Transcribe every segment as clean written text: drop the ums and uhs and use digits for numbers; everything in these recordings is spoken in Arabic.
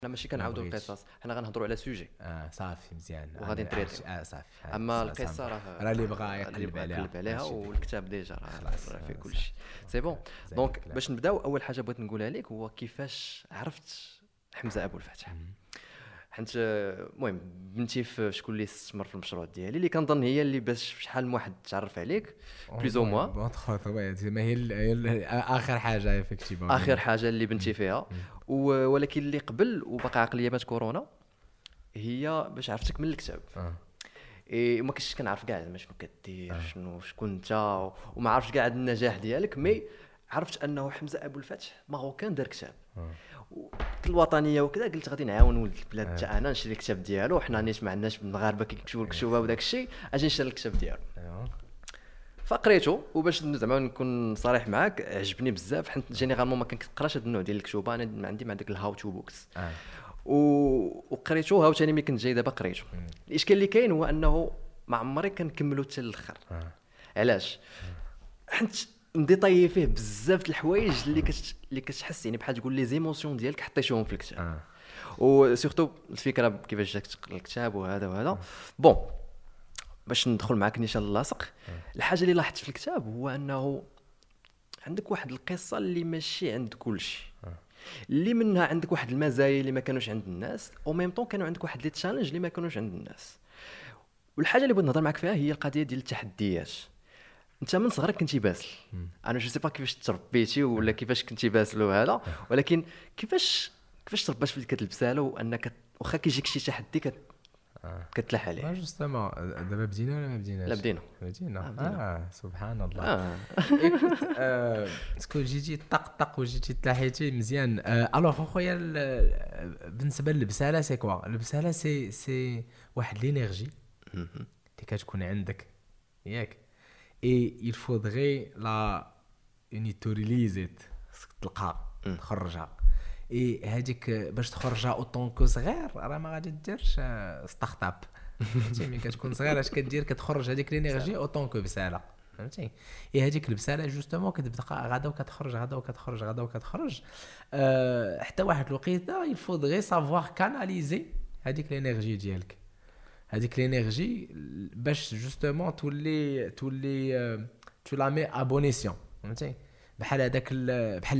انا ماشي كنعاودوا القصص، حنا غنهضروا على سوجي صافي مزيان وغادي نتريطيو. صافي. اما القصه راه اللي بغى يقلب عليها والكتاب ديجا راه فيه كلشي سي بون. دونك باش نبداو، اول حاجه بغيت نقولها لك هو كيفاش عرفت حمزه ابو الفتح. حنت المهم بنتي في شكون اللي استثمر في المشروع ديالي، اللي كنظن هي اللي باش شحال من واحد تعرف عليك بليز او موا. ما هي اخر حاجه افكتيفون، اخر حاجه اللي بنتي فيها. ولكن اللي قبل وباقي عقليه مات كورونا هي باش عرفتك من الكتاب. وما كنتش كنعرف كاع زعما شنو كدير شكون انت، وما عرفتش كاع النجاح ديالك، مي عرفت انه حمزه ابو الفتح ماروكان دار كتاب الوطنيه وكذا. قلت غادي نعاون ولد البلاد حتى انا نشري الكتاب ديالو، حنا نيت ما عندناش المغاربه كيكتبوا الكتوبه وداك الشيء، اجي نشري الكتاب ديالو. فقريته، وباش زعما نكون صريح معاك عجبني بزاف، حيت جينيرالمون ما كنقراش هذا النوع ديال الكتوبه، انا ما عندي مع داك الهاو تو بوكس. وقريته عاوتاني ملي كنت جاي دابا قريته. الاشكال اللي كاين هو انه ما عمري كنكملو حتى للاخر. علاش؟ حيت نديطايي فيه بزاف د الحوايج اللي كتحس يعني بحال تقول لي زيموسيون ديالك حطيتيهم في الكتاب. وسورتو الفكره كيفاش جاك تقرا الكتاب وهذا بون. باش ندخل معاك نيشان اللاصق، الحاجه اللي لاحظت في الكتاب هو انه عندك واحد القصه اللي ماشي عند كلشي، اللي منها عندك واحد المزايا اللي ما كانوش عند الناس، او ميم طون كانوا عندك واحد لي تشالنج اللي ما كانوش عند الناس. والحاجه اللي بغيت نهضر معاك فيها هي القضيه ديال التحديات. انت من صغرك كنتي باسل، انا جو سي با كيفاش تربيتي ولا كيفاش كنتي باسل وهذا، ولكن كيفاش تربات في ديك البساله، وانك واخا كيجيك شي تحدي كتلاح عليه. جوستومون دابا بدينا ولا ما بديناش؟ لا بدينا. سبحان الله. اسكو جيتي طق وجيتي تلاحيتي مزيان. الوغ خويا، بالنسبه للبساله سي كوا البساله؟ سي واحد لينيرجي اللي كتكون عندك ياك، اي il faudrait la unitorilizet تلقى تخرجها. اي هذيك باش تخرجها اوطون كو صغير راه ما غادي ديرش ستارت اب، فهمتي؟ ملي كتكون صغير اش كدير؟ كتخرج هذيك لينيرجي اوطون كو بساله، فهمتي؟ اي هذيك البساله جوستومون كتبقى غادا وكتخرج حتى واحد الوقيته il faudrait savoir canaliser هذيك لينيرجي ديالك، هذيك لينيرجي باش جوستومون تولي تو لا مي ابونيسيون، فهمتي؟ بحال هذاك بحال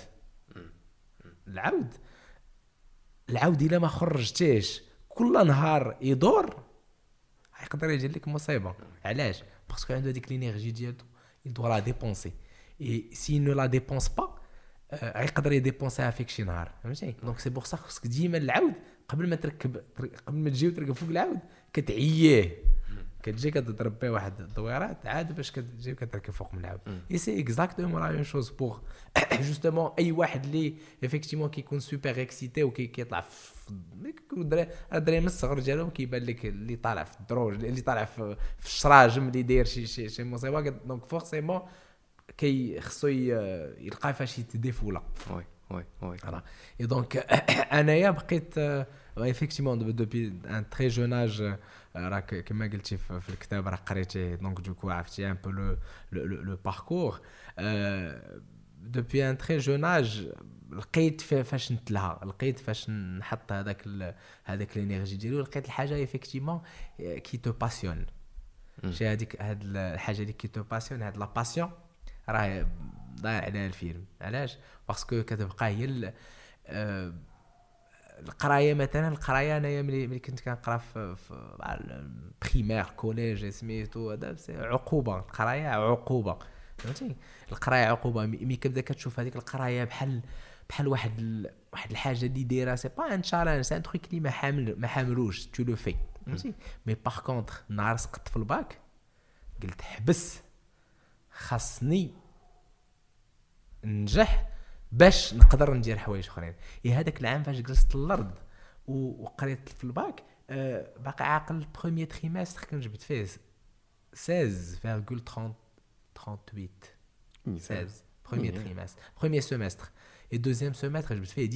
العود الا ما خرجتيش كل نهار يدور يقدر يجي لك مصيبه. علاش؟ باسكو عنده هذيك لينيرجي ديالو il doit la dépenser et s'il ne la dépense pas يقدر يديبونسيها فيك شي نهار، فهمتي؟ دونك سي بور سا خصك ديما العود قبل ما تجي وتركب فوق العود كتعييه، كتجي كتضرب به واحد الدويرات عاد باش كتجي كتركب فوق من العود. اي سي اكزاكتومون لا ميم شوز بور جوستومون اي واحد اللي افيكتيمون كيكون سوبر اكسيتي وكيطلع في الدراري من الصغر ديالهم كيبان لك اللي طالع في الدروج، اللي طالع في الشراجم، اللي داير شي مصيبه، دونك فورسيمون خصو يلقى فاش يتديفولا. وي فوالا. اي دونك انايا بقيت effectivement depuis un très jeune âge راك كما قلتي في الكتاب راه قريتي، دونك دوكو عرفتي ان بو لو باركور. depuis un très jeune âge لقيت فاش نتلها، لقيت فاش نحط هذاك الانرجي ديالو، لقيت الحاجه effectivement كي تو باسيون. شي هذيك الحاجه اللي كي تو باسيون، هاد لا باسيون راه ضايع على الفيلم. علاش؟ باسكو كتبقى هي القرايه. مثلا القرايه انايا ملي كنت كنقرا في بريمير كوليج سميتو هذا عقوبه، القرايه عقوبه، فهمتي؟ القرايه عقوبه. مي كتبدا كتشوف هذيك القرايه بحال واحد الحاجه اللي دايره سي با ان تشالنج، سي ان تروك اللي ما حاملوش تو لو في، فهمتي؟ مي باغ كونطخ نهار سقطت في الباك قلت حبس، خاصني ننجح باش نقدر ندير حوايج اخرين. هذاك العام فاش جلست الارض وقريت في الباك باقي عاقل بروميير تريمستر كنجبت فيه 16,38 بروميير تريمستر، بروميير سيمستر، اي دوزيام سيمستر جبت فيه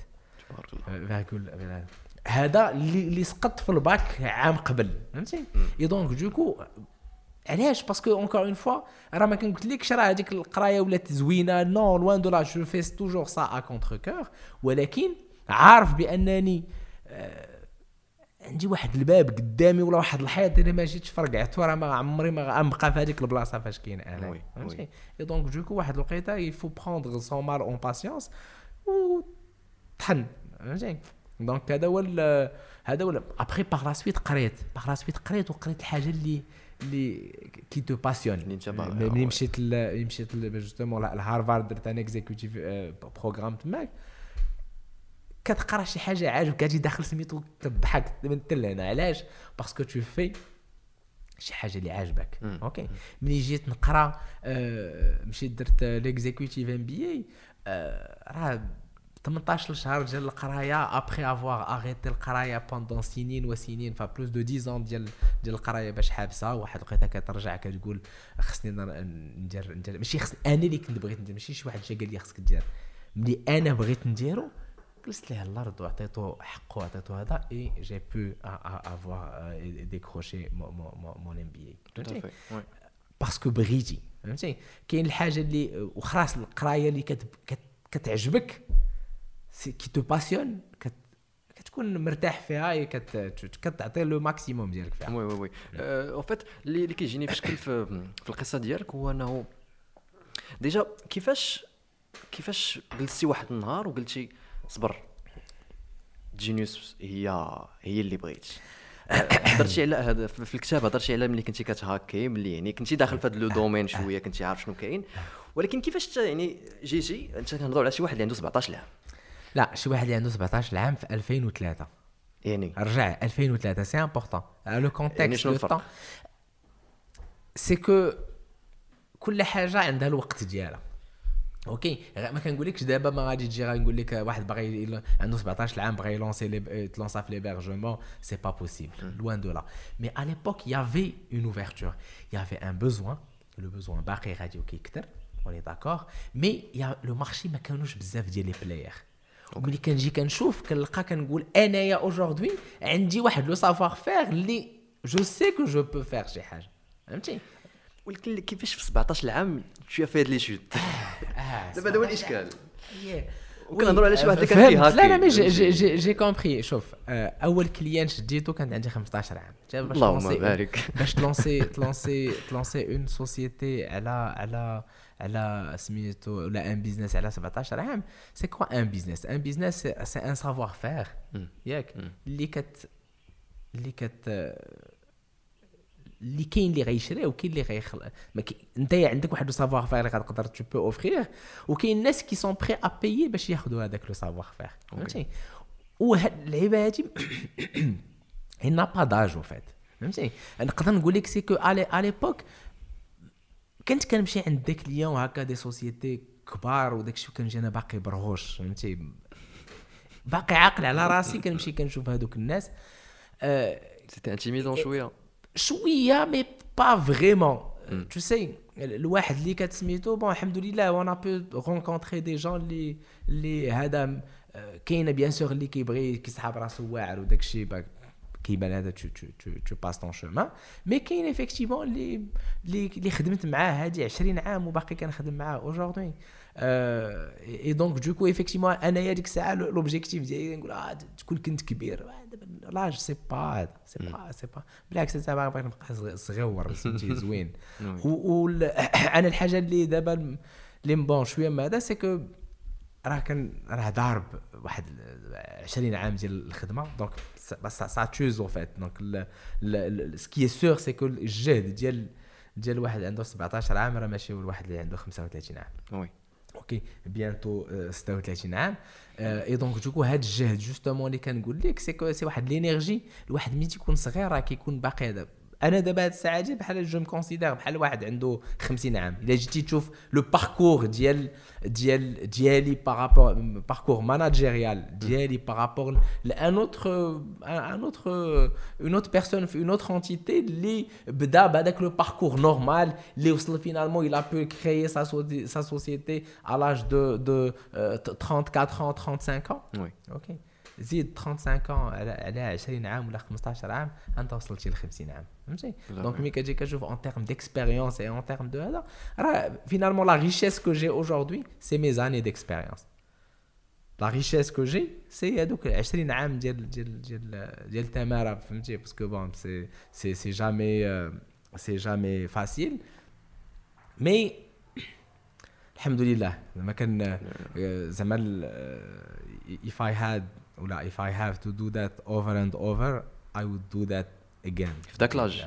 17. هذا اللي سقطت في الباك عام قبل، فهمتي؟ اي دونك دوكو علاش؟ باسكو اونكور اون فوا راه ما كنقولكش راه هذيك القرايه ولات زوينه، نو لوان دو لا، جو فيس توجور سا ا كونتر كور، ولكن عارف بانني عندي واحد الباب قدامي ولا واحد الحيط اللي ما جيتش فرقعت راه ما عمري ما غنبقى في هذيك البلاصه فاش كاين انا فهمتي. اي دونك دوكو واحد الوقيته يفو بروندر سون مال اون باسيونس و طحن فهمتي. دونك هذا هو ابري باغ لا سويت قريت وقريت الحاجه اللي كي تو باسيون. ملي مشيت جوستومون لهارفارد درت ان اكزيكوتيف بروغرام تماك كتقرا شي حاجه عاجبك كتجي داخل سميتو كتضحك من هنا. علاش؟ باسكو تو في شي حاجه اللي عاجبك. اوكي ملي جيت نقرا مشيت درت ليكزيكوتيف ام بي اي راه 18 شهر ديال القرايه ابري افوار اغيتي القرايه بوندون سنين وسنين فبلوس دو 10 ans ديال القرايه باش حابسه. واحد لقيتها كترجع كتقول خصني ندير ماشي خصني انا اللي كنت بغيت ندير ماشي شي واحد جا قال لي خصك دير ملي انا بغيت نديرو جلست ليه الارض وعطيته حقه وعطيته هذا اي جي بو افوار ديكروشي مون ام بي اي باسكو بغيتي فهمتي. كاين الحاجه اللي وخلاص القرايه اللي كتعجبك كي تو باسيون كتكون مرتاح فيها كتعطي لو ماكسيموم ديالك فيها. وي او فيت اللي كيجيني في شكل في القصه ديالك هو انه ديجا كيفاش جلستي واحد النهار وقلتي صبر جينيوس هي اللي بغيت. هضرتي على هذا في الكتاب هضرتي على ملي كنتي كتهاكي ملي يعني كنتي داخل في هذا لو دومين شويه كنتي عارف شنو كاين ولكن كيفاش يعني جيتي انت كنهضروا على شي واحد اللي عنده 17 عام. لا شي واحد اللي عنده 17 عام في 2003 يعني رجع 2003 سي امبورطون لو كونتكست لو طون سي كو كل حاجه عندها الوقت ديالها. اوكي ما كنقولكش دابا ما غادي تجي غنقول لك واحد باغي عنده 17 عام باغي يلونسا في ليبرجمون سي با بوسيبل لوان دو لا. مي ا ليبوك يافي اون اوفرتور يافي ان بوزوان لو بوزوان باقي غادي كيكثر اوني داكور مي يا لو مارشي ما كانوش بزاف ديال لي بلاير. وملي كنجي كنشوف كنلقى كنقول انايا اوجوردي عندي واحد لو سافوار فير اللي جو سي كو جو بو فير شي حاجه فهمتي. ولكن كيفاش في 17 عام شويه في هاد لي شوت دابا هذا هو الاشكال. وكنهضروا على شي واحد اللي كان فيها لا مي جي كومبري. شوف اول كليان شديتو كانت عندي 15 عام اللهم بارك باش تلونسي اون سوسيتي على سميتو ولا ان بيزنس على 17 عام. سي كوا ان بيزنس سي ان سافوار فير ياك اللي كاين اللي غيشري وكاين اللي غيخلق. انت عندك واحد لو سافوار فير اللي غتقدر تو بو اوفرير وكاين الناس كي سون بري ا بايي باش ياخذوا هذاك لو سافوار فير فهمتي. وهاد اللعيبه هادي هنا با داج وفات فهمتي. نقدر نقول لك سي كو على ليبوك كنت كنمشي عند داك اليوم هكا دي سوسيتي كبار وداك الشيء كنجي انا باقي برغوش فهمتي باقي عاقل على راسي كنمشي كنشوف هذوك الناس سيتي انتيميدون شويه مي با فريمون تو سي الواحد اللي كتسميتو بون الحمد لله وانا بو رونكونتري دي جون اللي هذا كاينه بيان سور اللي كيبغي كيسحاب راسو واعر وداك الشيء كيبان هذا تو باس طون شومان. مي كاين ايفيكتيفون اللي خدمت معاه هادي 20 عام وباقي كنخدم معاه اوجوردي اي دونك دوكو ايفيكتيفون انايا ديك الساعه لوبجيكتيف ديالي نقول تكون كنت كبير لا جو سي با بالعكس انا باغي نبقى صغيور سميتي زوين. انا الحاجه اللي دابا اللي بون شويه ما هذا سي كو راه ضارب واحد 20 عام ديال الخدمه دونك سا توز فات دونك سكي سور سي كو الجهد ديال واحد عنده 17 عام راه ماشي الواحد اللي عنده 35 عام. وي اوكي بيانتو 36 عام اي دونك دوكو هاد الجهد جوستومون اللي كنقول لك سي واحد لينيرجي الواحد ملي تيكون صغير راه كيكون باقي هذا. انا دابا هاد الساعه دي بحال جو مكونسيدير بحال واحد عنده 50 عام الا جيتي تشوف لو باركور ديالي بارابور باركور ماناجيريال ديالي بارابور لان اون اوتر بيرسون في اون اوتر انتيتي اللي بدا بهذاك لو باركور نورمال اللي وصل فينالمون il a pu créer sa société à l'âge de 34 ans 35 ans. oui ok زيد 35 على 20 عام ولا 15 عام انت وصلتي ل 50 عام فهمتي. دونك ملي كتجي كتشوف اون تيرم ديكسبيريونس اي اون تيرم دو هذا راه فينالمون لا ريشيس كو جي اوجوردي سي مي زاني ديكسبيريونس لا ريشيس كو جي سي هذوك 20 عام ديال تماره فهمتي باسكو بون سي جامي فاسيل مي الحمد لله زعما كان زعما if I had ولا if I have to do that over and over I would do that again في داك لاج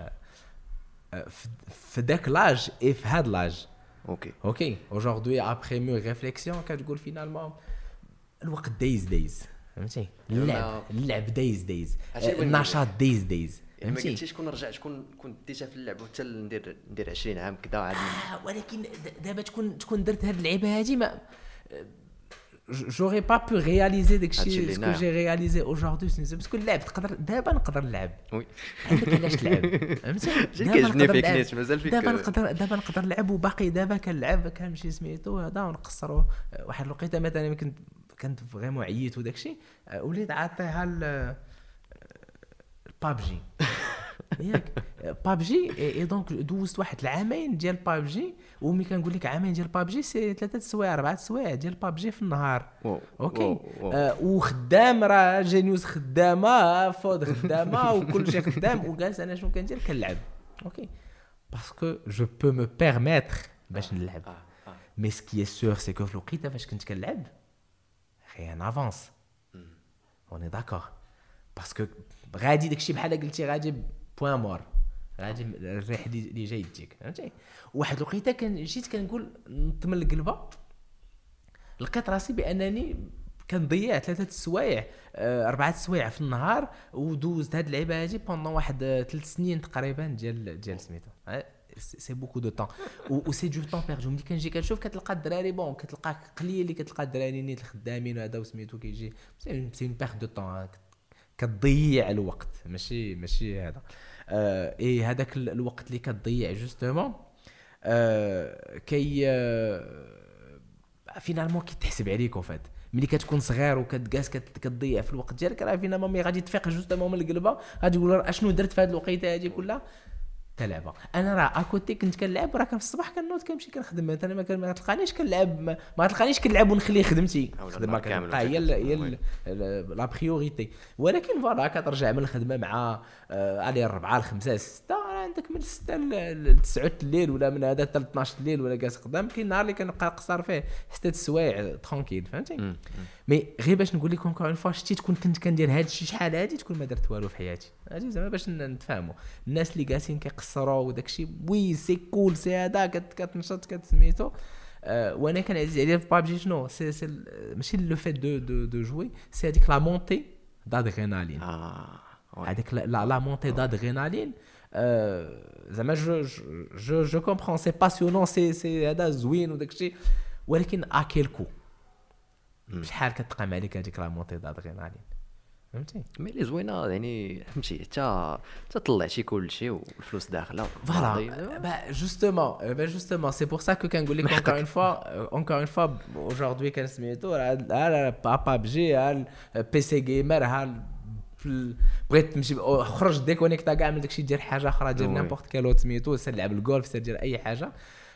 في داك لاج if had لاج اوكي aujourd'hui après mûre réflexion كتقول فينالمون الوقت دايز فهمتي اللعب دايز النشاط دايز يعني ما قلتيش كون رجع كون ديجا في اللعب حتى ندير 20 عام كذا عاد ولكن دابا تكون درت هاد اللعبه هادي ما j'aurais pas pu réaliser داكشي que j'ai réalisé aujourd'hui parce que اللعب نقدر نلعب وي عندك علاش تلعب فهمتي كيعجبني فيك نيت مازال فيك دابا نقدر نلعب وباقي دابا كنلعب كنمشي سميتو هذا ونقصروا واحد الوقيته مثلا كنت فريمون عييت وداكشي وليت عاطيها البابجي ياك بابجي اي دونك دوزت واحد العامين ديال بابجي وملي كنقول لك عامين ديال بابجي سي 3 سوايع 4 سوايع ديال بابجي في النهار اوكي وخدام راه جينيوس خدامه فود خدامه وكل شيء خدام وجالس انا شنو كندير كنلعب اوكي باسكو جو بو مو بيرميتر باش نلعب مي سكي سور سي كو في الوقيته فاش كنت كنلعب rien avance on est d'accord parce que غادي داكشي بحال قلتي غادي بوين مور غادي الريح اللي جاي يديك فهمتي واحد الوقيته جيت كنقول نطمن القلبه لقيت راسي بانني كنضيع 3 سوايع 4 سوايع في النهار ودوزت هاد اللعبه هادي بوندون واحد 3 سنين تقريبا ديال سميتو سي بوكو دو طون و سي دو طون بيردو ملي كنجي كنشوف كتلقى الدراري بون كتلقى قليل اللي كتلقى الدراري نيت الخدامين هذا وسميتو كيجي سي اون بيرد دو طون كتضيع الوقت ماشي هذا اي هذاك الوقت اللي كتضيع جوستومون كي فينالمون كيتحسب عليك وفات ملي كتكون صغير وكتجالس كتضيع في الوقت ديالك راه فينالمون مي غادي تفيق جوستومون من القلبه غادي تقول اشنو درت في هذه الوقيته هذه كلها تلعبه انا راه اكوتي كنت كنلعب راه كان في الصباح كنوض كنمشي كنخدم مثلا ما تلقانيش كنلعب ما تلقانيش كنلعب ونخلي خدمتي الخدمه كامله هي لا بريوريتي ولكن فوالا كترجع من الخدمه مع على 4 5 6 عندك من 6 ل 9 الليل ولا من هذا حتى 12 الليل ولا جالس قدام كاين نهار اللي كنبقى قصر فيه 6 السوايع ترونكيل فهمتي مي غير باش نقول لكم كون فوا شتي تكون كنت كندير هذا الشيء شحال هادي تكون ما درت والو في حياتي هادي زعما باش نتفاهموا الناس اللي جالسين كيقصروا وداكشي وي سي كول سي هذا كتنشط كتسميتو وانا كان عزيز عليا في بابجي شنو سي ماشي لو فيت دو جوي سي هذيك لا مونتي دادرينالين هذيك لا مونتي دادرينالين زعما جو كومبرون سي باسيونون سي هذا زوين وداكشي ولكن اكيل كو شحال كتقام عليك هذيك لا مونتي دادرينالين فهمتي مي لي زوينه يعني فهمتي حتى طلعتي كلشي والفلوس داخله فوالا جوستومون سي بور سا كو كنقول لك اونكور فوا اجوردي كان سميتو راه بابجي بي سي جيمر بغيت تمشي خرج ديكونيكتا كاع من داكشي دير حاجه اخرى دير نيمبورط كالو سميتو سير لعب الجولف سير دير اي حاجه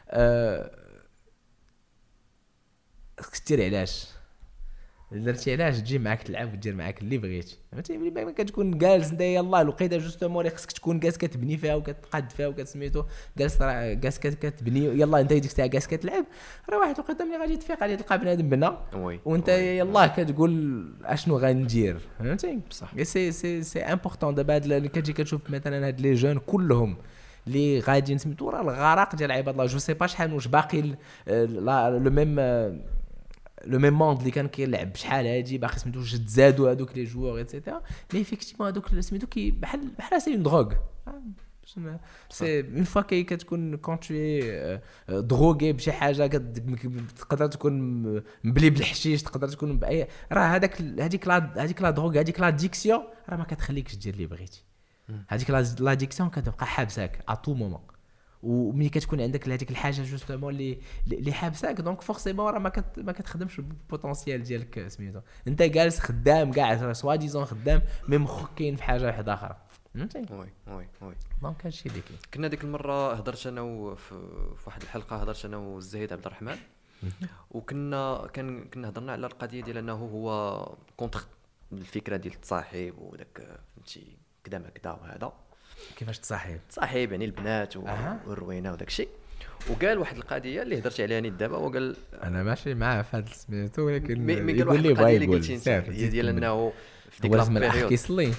كثير علاش درتي علاش تجي معاك تلعب ودير معاك اللي بغيتي فهمتي ملي ما كتكون جالس انت يلاه الوقيته جوستومون اللي خصك تكون جالس كتبني فيها وكتقاد فيها وكتسميتو جالس كتبني يلاه انت ديك الساعه جالس كتلعب راه واحد الوقيته ملي غادي تفيق غادي تلقى بنادم بنا وانت يلاه كتقول اشنو غندير فهمتي بصح سي امبورطون دابا اللي كتجي كتشوف مثلا هاد لي جون كلهم اللي غادي نسميتو راه الغرق ديال عباد الله جو سي با شحال واش باقي لو ميم موند اللي كان كيلعب شحال هادي باقي سميتو تزادوا هذوك لي جوور ايتترا مي فيكتيمون هذوك سميتو كي بحال سي اون دروغ سي اون فوا كتكون كون تي دروغي بشي حاجه تقدر تكون مبلي بالحشيش تقدر تكون باي راه هذيك لا دروغ هذيك لا ديكسيون راه ما كتخليكش دير اللي بغيتي هذيك لا ديكسيون كتبقى حابساك ا تو مومون وملي كتكون عندك هذيك الحاجه جوستومون اللي حابساك دونك فورسيمون راه ما كتخدمش البوتونسيال ديالك سميتو انت جالس خدام كاع سوا ديزون خدام مي مخك كاين في حاجه واحده اخرى فهمتي وي دونك هادشي اللي كاين كنا ديك المره هضرت انا في واحد الحلقه هضرت انا والزهيد عبد الرحمن كنا هضرنا على القضيه ديال انه هو كونتر الفكره ديال التصاحب وداك فهمتي كذا ما كذا وهذا كيفاش تصاحب يعني البنات والروينه وداك الشيء. وقال واحد القضيه اللي هضرت عليها نيت دابا، وقال انا ماشي معاه في هذا سميتو، ولكن يقول لي بغا يقول هي ديال انه في ديك البيريود احكي صلي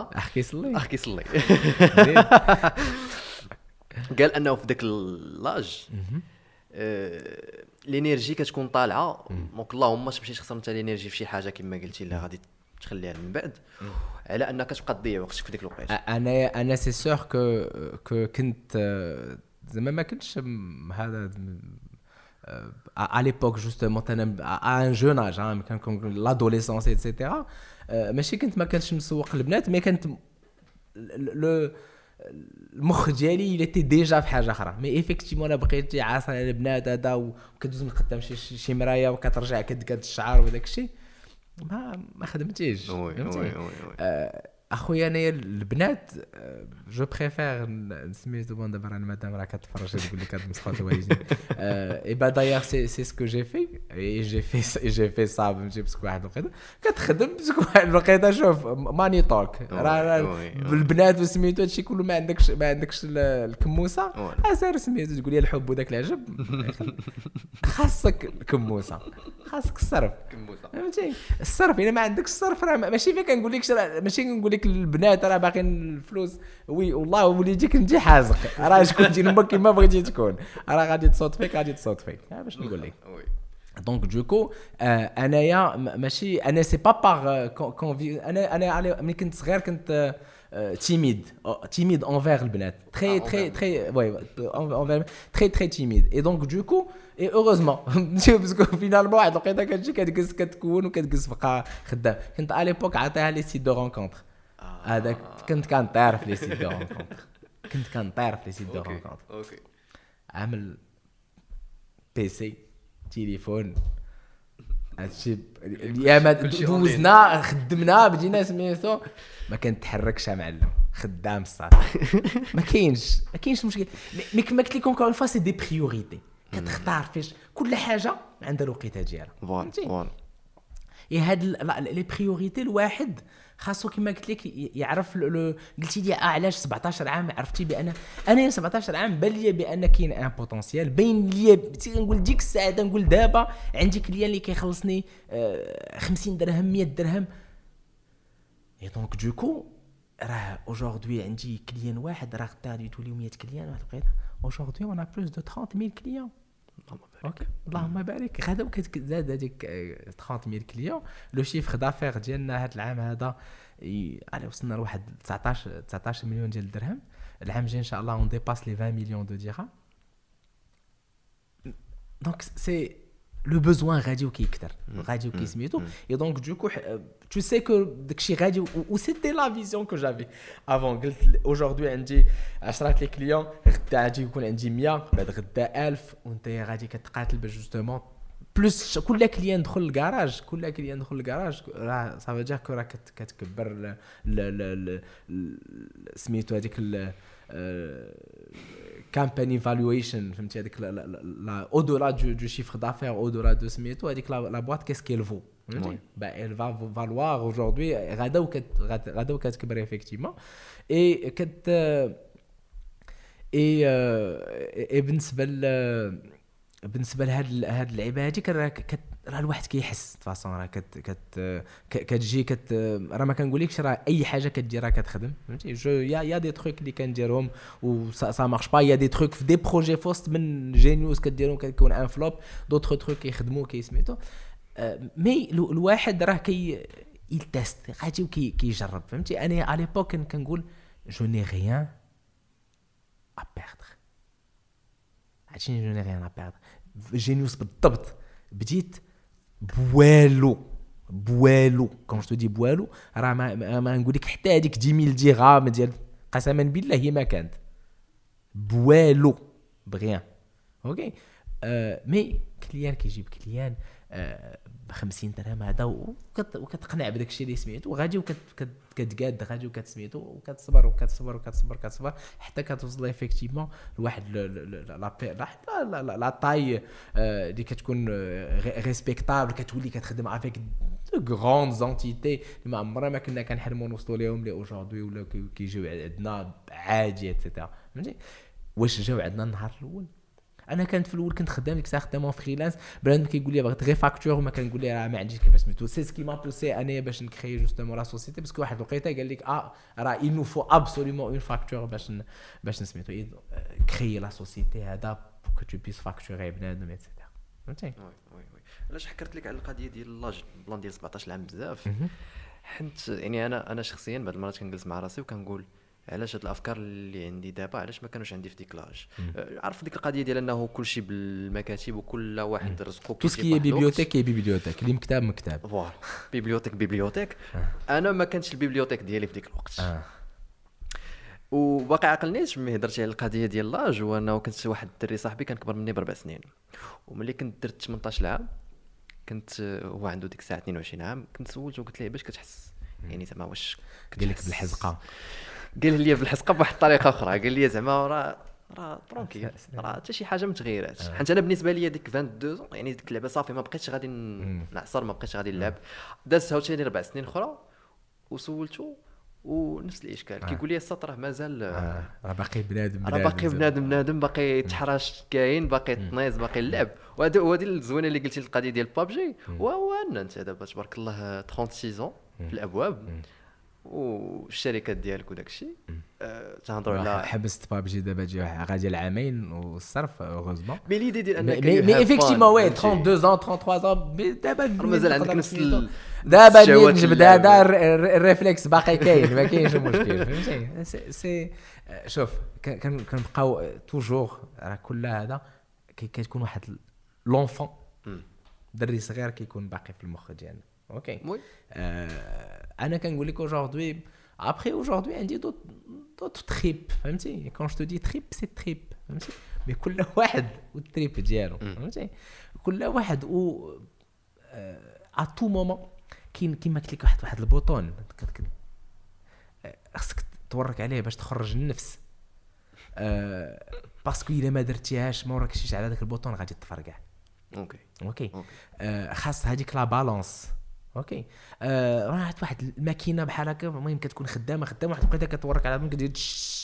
قال انه في داك اللاج الانرجي كتكون طالعه، دونك اللهم ما تمشيش تخسر انت الانرجي في شي حاجه كما قلتي اللي غادي تخليها من بعد، على انك تبقى تضيع وقتك في ديك الوقيته. انا سي سور كو كنت زعما ما كنتش هذا à l'époque justement à un jeune âge كان l'adolescence etc. ماشي كنت ما كنتش مسوق البنات، مي كانت المخ ديالي اللي تي ديجا في حاجه اخرى. مي ايفيكتيفمون انا بقيت عاصر على البنات هذا وكدوز من قدام شي مرايه وكترجع كدكاد الشعر وداك الشيء ما خدمتيش. اخويا انا البنات جو بريفير سميتو بون دابا انا مادام راه كتفرج تقول لك هاد مسخوط الوالدين اي با دايوغ سي سكو جي في اي جي في صعب نجيب بسك واحد الوقيته كتخدم بسك واحد الوقيته. شوف ماني توك راه البنات وسميتو هادشي كله ما عندكش الكموسه اسير سميتو تقول لي الحب وداك العجب خاصك الكموسه خاصك الصرف فهمتي. الصرف الا ما عندكش الصرف راه ماشي فيك كنقول لك ماشي كنقول لك البنات راه باقيين الفلوس وي والله وليديك انت حازق راه شكون تجي لما كيما بغيتي تكون راه غادي تصوت فيك باش نقول لك. دونك دوكو انايا ماشي انا سي با باغ انا ملي كنت صغير كنت timide envers البنات très timide et donc du coup et heureusement parce que finalement واحد الوقيته كتجي كتكون وكتجلس بقى خدام. كنت على ليبوك عطيها لي سيت دو رونكونتر هذاك كنت كنطير في لي سيت دو رونكونتر اوكي عامل بيسي تليفون هادشي الايام دوزنا خدمنا بدينا سميتو ما كنتحركش معلم خدام الصاط ما كاينش مشكل. مي كما قلت لكم كون فوا سي دي بريوريتي كتختار فاش كل حاجه عندها الوقيته ديالها فوالا. هاد لي بريوريتي الواحد خاصو كما قلت لك يعرف قلتي لي علاش 17 عام عرفتي بان انا 17 عام بان لي بان كاين ان بوتونسيال باين لي نقول ديك الساعه نقول دابا عندي كليان اللي كيخلصني 50 درهم 100 درهم. اي دونك دوكو راه اوجوردي عندي كليان واحد راه غدا غادي تولي 100 كليان واحد الوقيته. اوجوردي اون ا بلوس دو 30000 كليان اوكي اللهم بارك. غدا كتزاد هذيك 30000 كليون. لو شيفر دافير ديالنا هذا العام هذا على وصلنا لواحد 19 مليون ديال الدرهم. العام الجاي ان شاء الله اون ديباس لي 20 مليون دو درهم. دونك سي لو بوزوان غادي وكيكثر غادي وكيسميتو. اي دونك دوكو tu sais que داكشي غادي و سيتي لا فيزيون كو جافي افون. قلت اوجوردي عندي 10 لي كليون غدا غادي يكون عندي 100 بعد غدا 1000 وانت غادي كتقاتل باش جوستومون بلوس كل كليان دخل الكراج راه صافي جا كو راه كتكبر سميتو هذيك campaign evaluation فهمتي هذيك لا au-delà du chiffre d'affaires au-delà de سميتو هذيك la boîte qu'est-ce qu'elle vaut bah elle va valoir aujourd'hui غدا وكتكبر effectivement et بالنسبه لهاد اللعيبه هذه راه الواحد كيحس فاصون راه كتجي راه ما كنقولكش راه اي حاجه كدير راه كتخدم فهمتي. يا دي تروك اللي كنديرهم و سا مارش با، يا دي تروك في دي بروجي فوست من جينيوس كديرهم كتكون ان فلوب، دوطخ تروك كيخدموا كيسميتو. مي الواحد راه يلتست غادي وكيجرب فهمتي. انا على ليبوك كنقول جو ني ريان ا بيردر عشان جو ني ريان ا بيردر. جينيوس بالضبط بديت بوالو كون جو دي بوالو راه ما نقول لك حتى هذيك 10000 درهم ديال قسما بالله هي ما كانت بوالو بغيان اوكي. مي كليان كيجيب كليان ب50 درهم هذا وكتقنع بداك الشيء اللي سمعته وغادي وكتقاد غادي وكتسميتو وكتصبر حتى كتوصل ايفيكتيفمون لواحد لا طاي اللي كتكون ريسبكتابل كتولي كتخدم افيك غراند زونتيتي اللي ما عمرنا ما كنا كنحلموا نوصلوا لهم لي اوجوردي ولا كيجيو عندنا عادي ايتترا فهمتي. واش جاو عندنا النهار الاول انا كنت في الاول كنت خدام ديك الساعه خدامه فريلانس بنادم كيقول لي بغيت غير فاكتور وما كنقول ليه راه ما عنديش كيفاش سميتو سي سكي ما بوسي انا باش نكري جوستومون لا سوسيتي باسكو واحد الوقيته قال لك راه il nous faut absolument اون فاكتور باش نسميتو كري لا سوسيتي هذا بو كو تو بيس فاكتوري بنادم ايتترا فهمتي. وي علاش حكرت لك على القضيه ديال لاج بلان ديال 17 عام بزاف حنت يعني انا شخصيا بعض المرات كنجلس مع راسي وكنقول علاش هاد الافكار اللي عندي دابا علاش ما كانوش عندي في ديك لاج. عارف ديك القضيه ديال انه كلشي بالمكاتب وكل واحد رزقو تو سكي بيبليوتيك اللي مكتب فوالا بيبليوتيك انا ما كانتش البيبليوتيك ديالي في ديك الوقت وباقي عقلنيش ملي هضرتي على القضيه ديال لاج وانه كنت واحد الدري صاحبي كان كبر مني ب4 سنين وملي كنت درت 18 عام كنت هو عنده ديك الساعه 22 عام كنت سولته وقلت له باش كتحس يعني زعما واش قال لك بالحزقه قال لي بالحزقه بواحد الطريقه اخرى قال لي زعما راه ترونكيل راه حتى شي حاجه متغيرات حيت انا بالنسبه لي ديك 22 يعني ديك اللعبه صافي ما بقيتش غادي نعصر ما بقيتش غادي نلعب دازت عاوتاني 4 سنين اخرى وسولته ونفس الاشكال كيقول لي السطر مازال راه باقي بنادم باقي يتحرش كاين باقي تنيز باقي اللعب وهذه الزوينه اللي قلتي القضيه ديال بابجي وهو ان انت دابا تبارك الله 36 في الابواب والشركات ديالك وداك الشيء تهضروا على حبست بابجي دابا جي غادي العامين والصرف اوغوزمون مي ليدي ديال انك مي افيكتيفمون وي 32 ans 33 ans دابا مازال عندك نفس دابا نجبد هذا الريفلكس باقي كاين ما كاينش مشكل فهمتي. سي شوف كنبقاو توجور راه كل هذا كتكون واحد لونفون دري صغير كيكون باقي في المخ ديالنا اوكي. انا كنقول لك aujourd'hui après aujourd'hui عندي d'autres trip فهمتي. quand je te dis trip c'est trip فهمتي مي كل واحد والتريب ديالو فهمتي كل واحد و à tout moment كاين كيما قلت لك واحد البوطون خصك تورك عليه باش تخرج النفس باسكو الا ما درتيهاش ما وراكش على داك البوطون غادي تفرقع. اوكي خاص هذيك لا بالانس اوكي. راه واحد الماكينه بحال هكا المهم كتكون خدامه واحد الوقيته كتورك على بالك كدير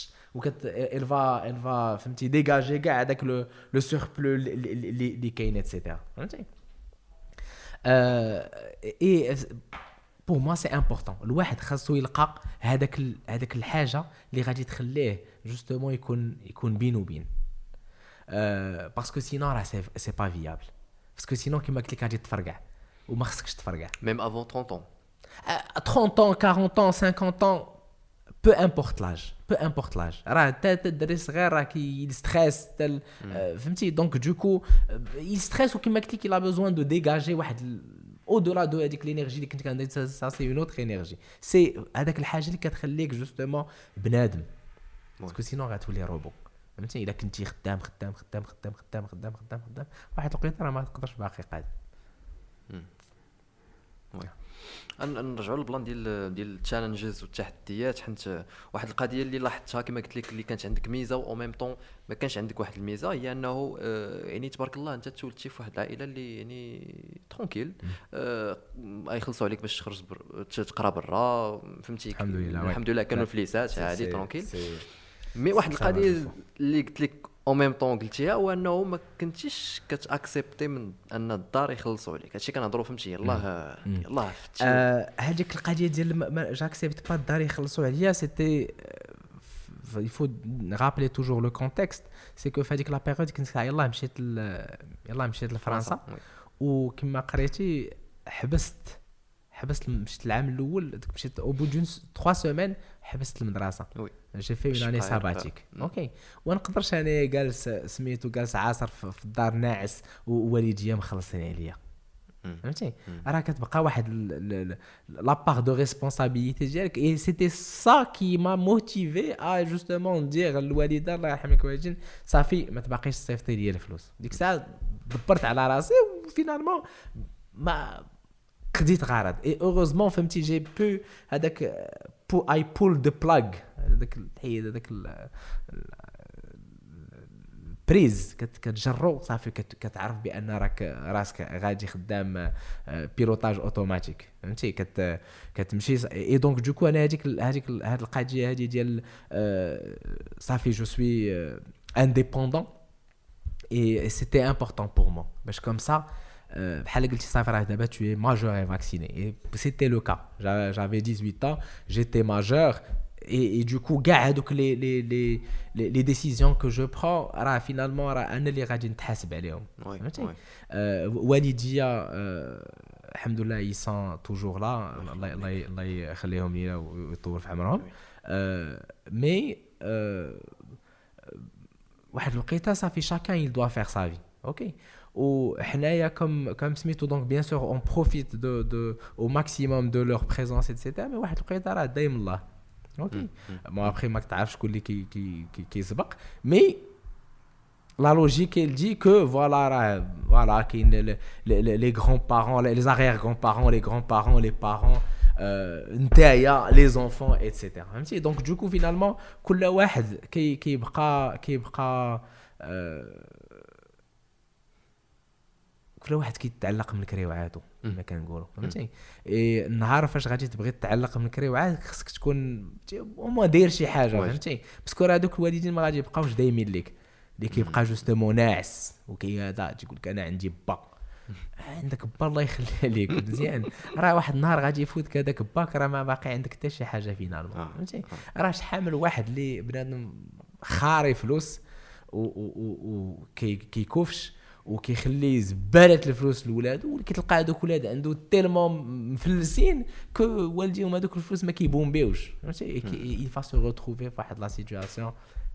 الفا فهمتي ديجاجي كاع هذاك لو سوربلو اللي كاين ايتترا فهمتي. اي بور موا سي امبورطون الواحد خاصو يلقى هذاك الحاجه اللي غادي تخليه جوستومون يكون بين وبين باسكو سينو راه سي با فيابل باسكو سينو كيما قلت لك غادي تفرقع وما خصكش تفرقع même avant 30 ans 30 ans 40 ans 50 ans peu importe l'âge راه حتى الدري صغير راه كيستريس فهمتي دونك دوكو يستريس وكما قلت لك il a besoin de dégager واحد او دولا دو هذيك الانرجي اللي كنت كندير سا سي اون اوتر انرجي سي هذاك الحاجه اللي كتخليك جوستومون بنادم باسكو سينو غتولي روبو فهمتي. الا كنتي خدام واحد الوقيته راه ما تقدرش باقي قاعد. نرجعوا للبلان ديال التشالنجز والتحديات حيت واحد القضيه اللي لاحظتها كما قلت لك اللي كانت عندك ميزه و ميم طون ما كانش عندك واحد الميزه هي انه يعني تبارك الله انت تولدتي في واحد العائله اللي يعني ترونكيل يخلصوا عليك باش تخرج تقرا برا فهمتي الحمد لله كانوا فليسات عادي ترونكيل. مي واحد القضيه اللي قلت لك او ميم طون قلتيها هو انه ما كنتيش كتاكسبتي من ان الدار يخلصوا عليك هادشي كنهضروا فهمتي يلاه هذيك القضيه ديال جاكسبت با الدار يخلصوا عليا سيتي il faut rappeler toujours le contexte c'est que في هذيك لا بيريود كنت يلاه مشيت لفرنسا وكما قريتي حبست مشيت العام الاول مشيت او بو دون 3 سيمين حبست المدرسه جي في اون اني ساباتيك اوكي ونقدرش انا جالس سميتو جالس عاصر في الدار ناعس ووالديا مخلصين عليا فهمتي راه كتبقى واحد لا بار دو ريسبونسابيلتي ديالك اي سيتي سا كي ما موتيفي ا جوستومون ندير الوالده الله يرحمك والدين صافي ما تبقيش تصيفطي لي الفلوس ديك الساعه دبرت على راسي وفينالمون ما قديت غرض اي اوغوزمون فهمتي جي بو هذاك اي بول دو بلاغ هذاك الحيد هذاك بريز كتجرو صافي كتعرف بان راسك غادي خدام بيلوتاج اوتوماتيك فهمتي كتمشي اي دونك دوكو انا هذيك هاد القضيه هذه ديال صافي جو سوي انديبوندون اي سيتي امبورطون بور مو باش كوم سا بحال قلتي صافي راه دابا tu es majeur et vacciné et c'était le cas j'avais 18 ans j'étais majeur et du coup كاع هذوك les décisions que je prends راه finalement راه انا اللي غادي نتحاسب عليهم فهمتي والديا الحمد لله ils sont toujours là الله يخليهم لينا ويطول في عمرهم مي واحد الوقيته صافي chacun il doit faire sa vie OK وحنايا comme سميتو donc bien sûr on profite de au maximum de leur présence etc mais واحد الوقيته راه دايم الله اوكي ما ابخي ما تعرفش شكون اللي كيسبق مي لا لوجيك elle dit que voilà كاين les grands-parents les arrière-grands-parents les grands-parents les parents نتايا les enfants etc فهمتي دونك دوكو فينالمون كل واحد كيبقى كل واحد كيتعلق من كريوعاتو كما كنقولوا فهمتي النهار فاش غادي تبغي تتعلق من كريوعات خصك تكون هما داير شي حاجه فهمتي باسكو راه دوك الوالدين ما غادي يبقاوش دايمين ليك اللي كيبقى جوستومون ناعس وكيهذا تيقول لك انا عندي با عندك با الله يخليها ليك مزيان راه واحد النهار غادي يفوتك هذاك باك راه ما باقي عندك حتى شي حاجه فينالمون فهمتي راه شحال من واحد اللي بنادم خاري فلوس و كيكوفش وكيخلي زباله الفلوس لولادو وكتلقى هذوك ولاد عنده تيلمون مفلسين كو والديهم هذوك الفلوس ما كيبومبيوش فهمتي il va se retrouver في واحد لا سيتوياسيون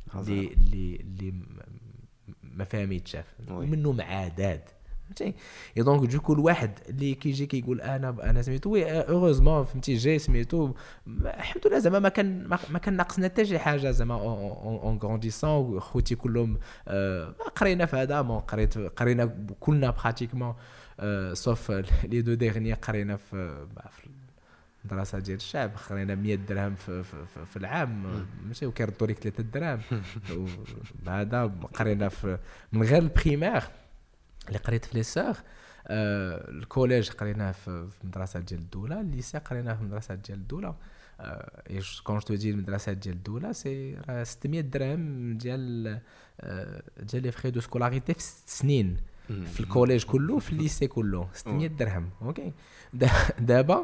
اللي ما فهميتش ومنه معادات فهمتي اي دونك دوكو الواحد اللي كيجي كيقول انا سميتو وي اوغوزمون فهمتي جاي سميتو الحمد لله زعما ما كان ناقصنا حتى شي حاجه زعما اون غرونديسون خوتي كلهم قرينا في هذا قرينا كلنا براتيكمون سوف لي دو ديرني قرينا في المدرسه ديال الشعب خرينا 100 درهم في العام ماشي وكيردوا لك 3 دراهم وهذا قرينا من غير البريمير اللي قريت في لي سور الكوليج قريناه في مدرسه ديال الدوله الليسي قريناه في مدرسه ديال الدوله كون جو دي المدرسه ديال الدوله سي 600 درهم ديال لي فري دو سكولاريتي في 6 سنين في الكوليج كله في الليسي كله 600 درهم اوكي دابا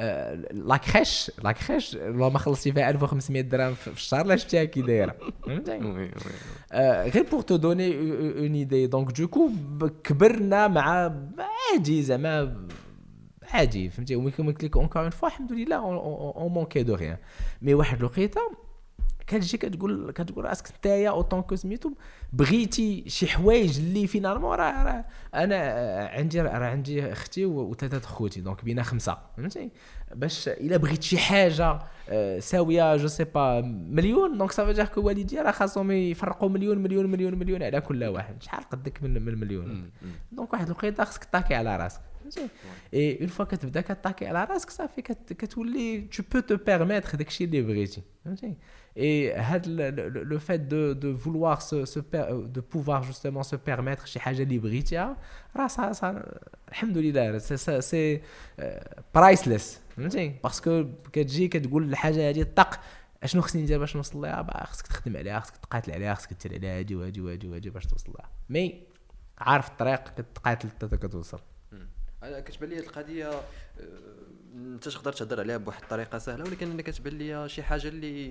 لاكريش ما خلصتي فيها 1500 درهم في الشهر لا شفتيها كي دايره فهمتي غير بور تو دوني اون ايدي دونك دوكو كبرنا مع عادي زعما عادي فهمتي وكما قلت لك اونكور اون فوا الحمد لله اون مونكي دو ريان مي واحد الوقيته كتجي كتقول راسك نتايا اوطون كو سميتو بغيتي شي حوايج اللي فينالمون راه انا عندي اختي وثلاثه خوتي دونك بينا 5 فهمتي باش الا بغيت شي حاجه ساويه جو سي با مليون دونك صافي جا كو والدي راه خاصهم يفرقوا مليون على كل واحد شحال قدك من المليون دونك واحد الوقيته خصك طاكي على راسك فهمتي اي اون فوا كتبدا كطاكي على راسك صافي كتولي tu peux te permettre داكشي اللي بغيتي فهمتي et le fait de vouloir de pouvoir justement se permettre شي حاجه اللي بغيتيها راه صا الحمد لله سي برايسلس فهمتي باسكو كتجي كتقول الحاجه هذه طق اشنو خصني ندير باش نوصل لها خصك تخدم عليها خصك تقاتل عليها خصك دير عليها هادي باش توصل لها مي عارف الطريق كتقاتل حتى كتوصل انا كتبان لي هذه القضيه انت تقدر تهضر عليها بواحد الطريقه سهله ولكن انا كتبان لي شي حاجه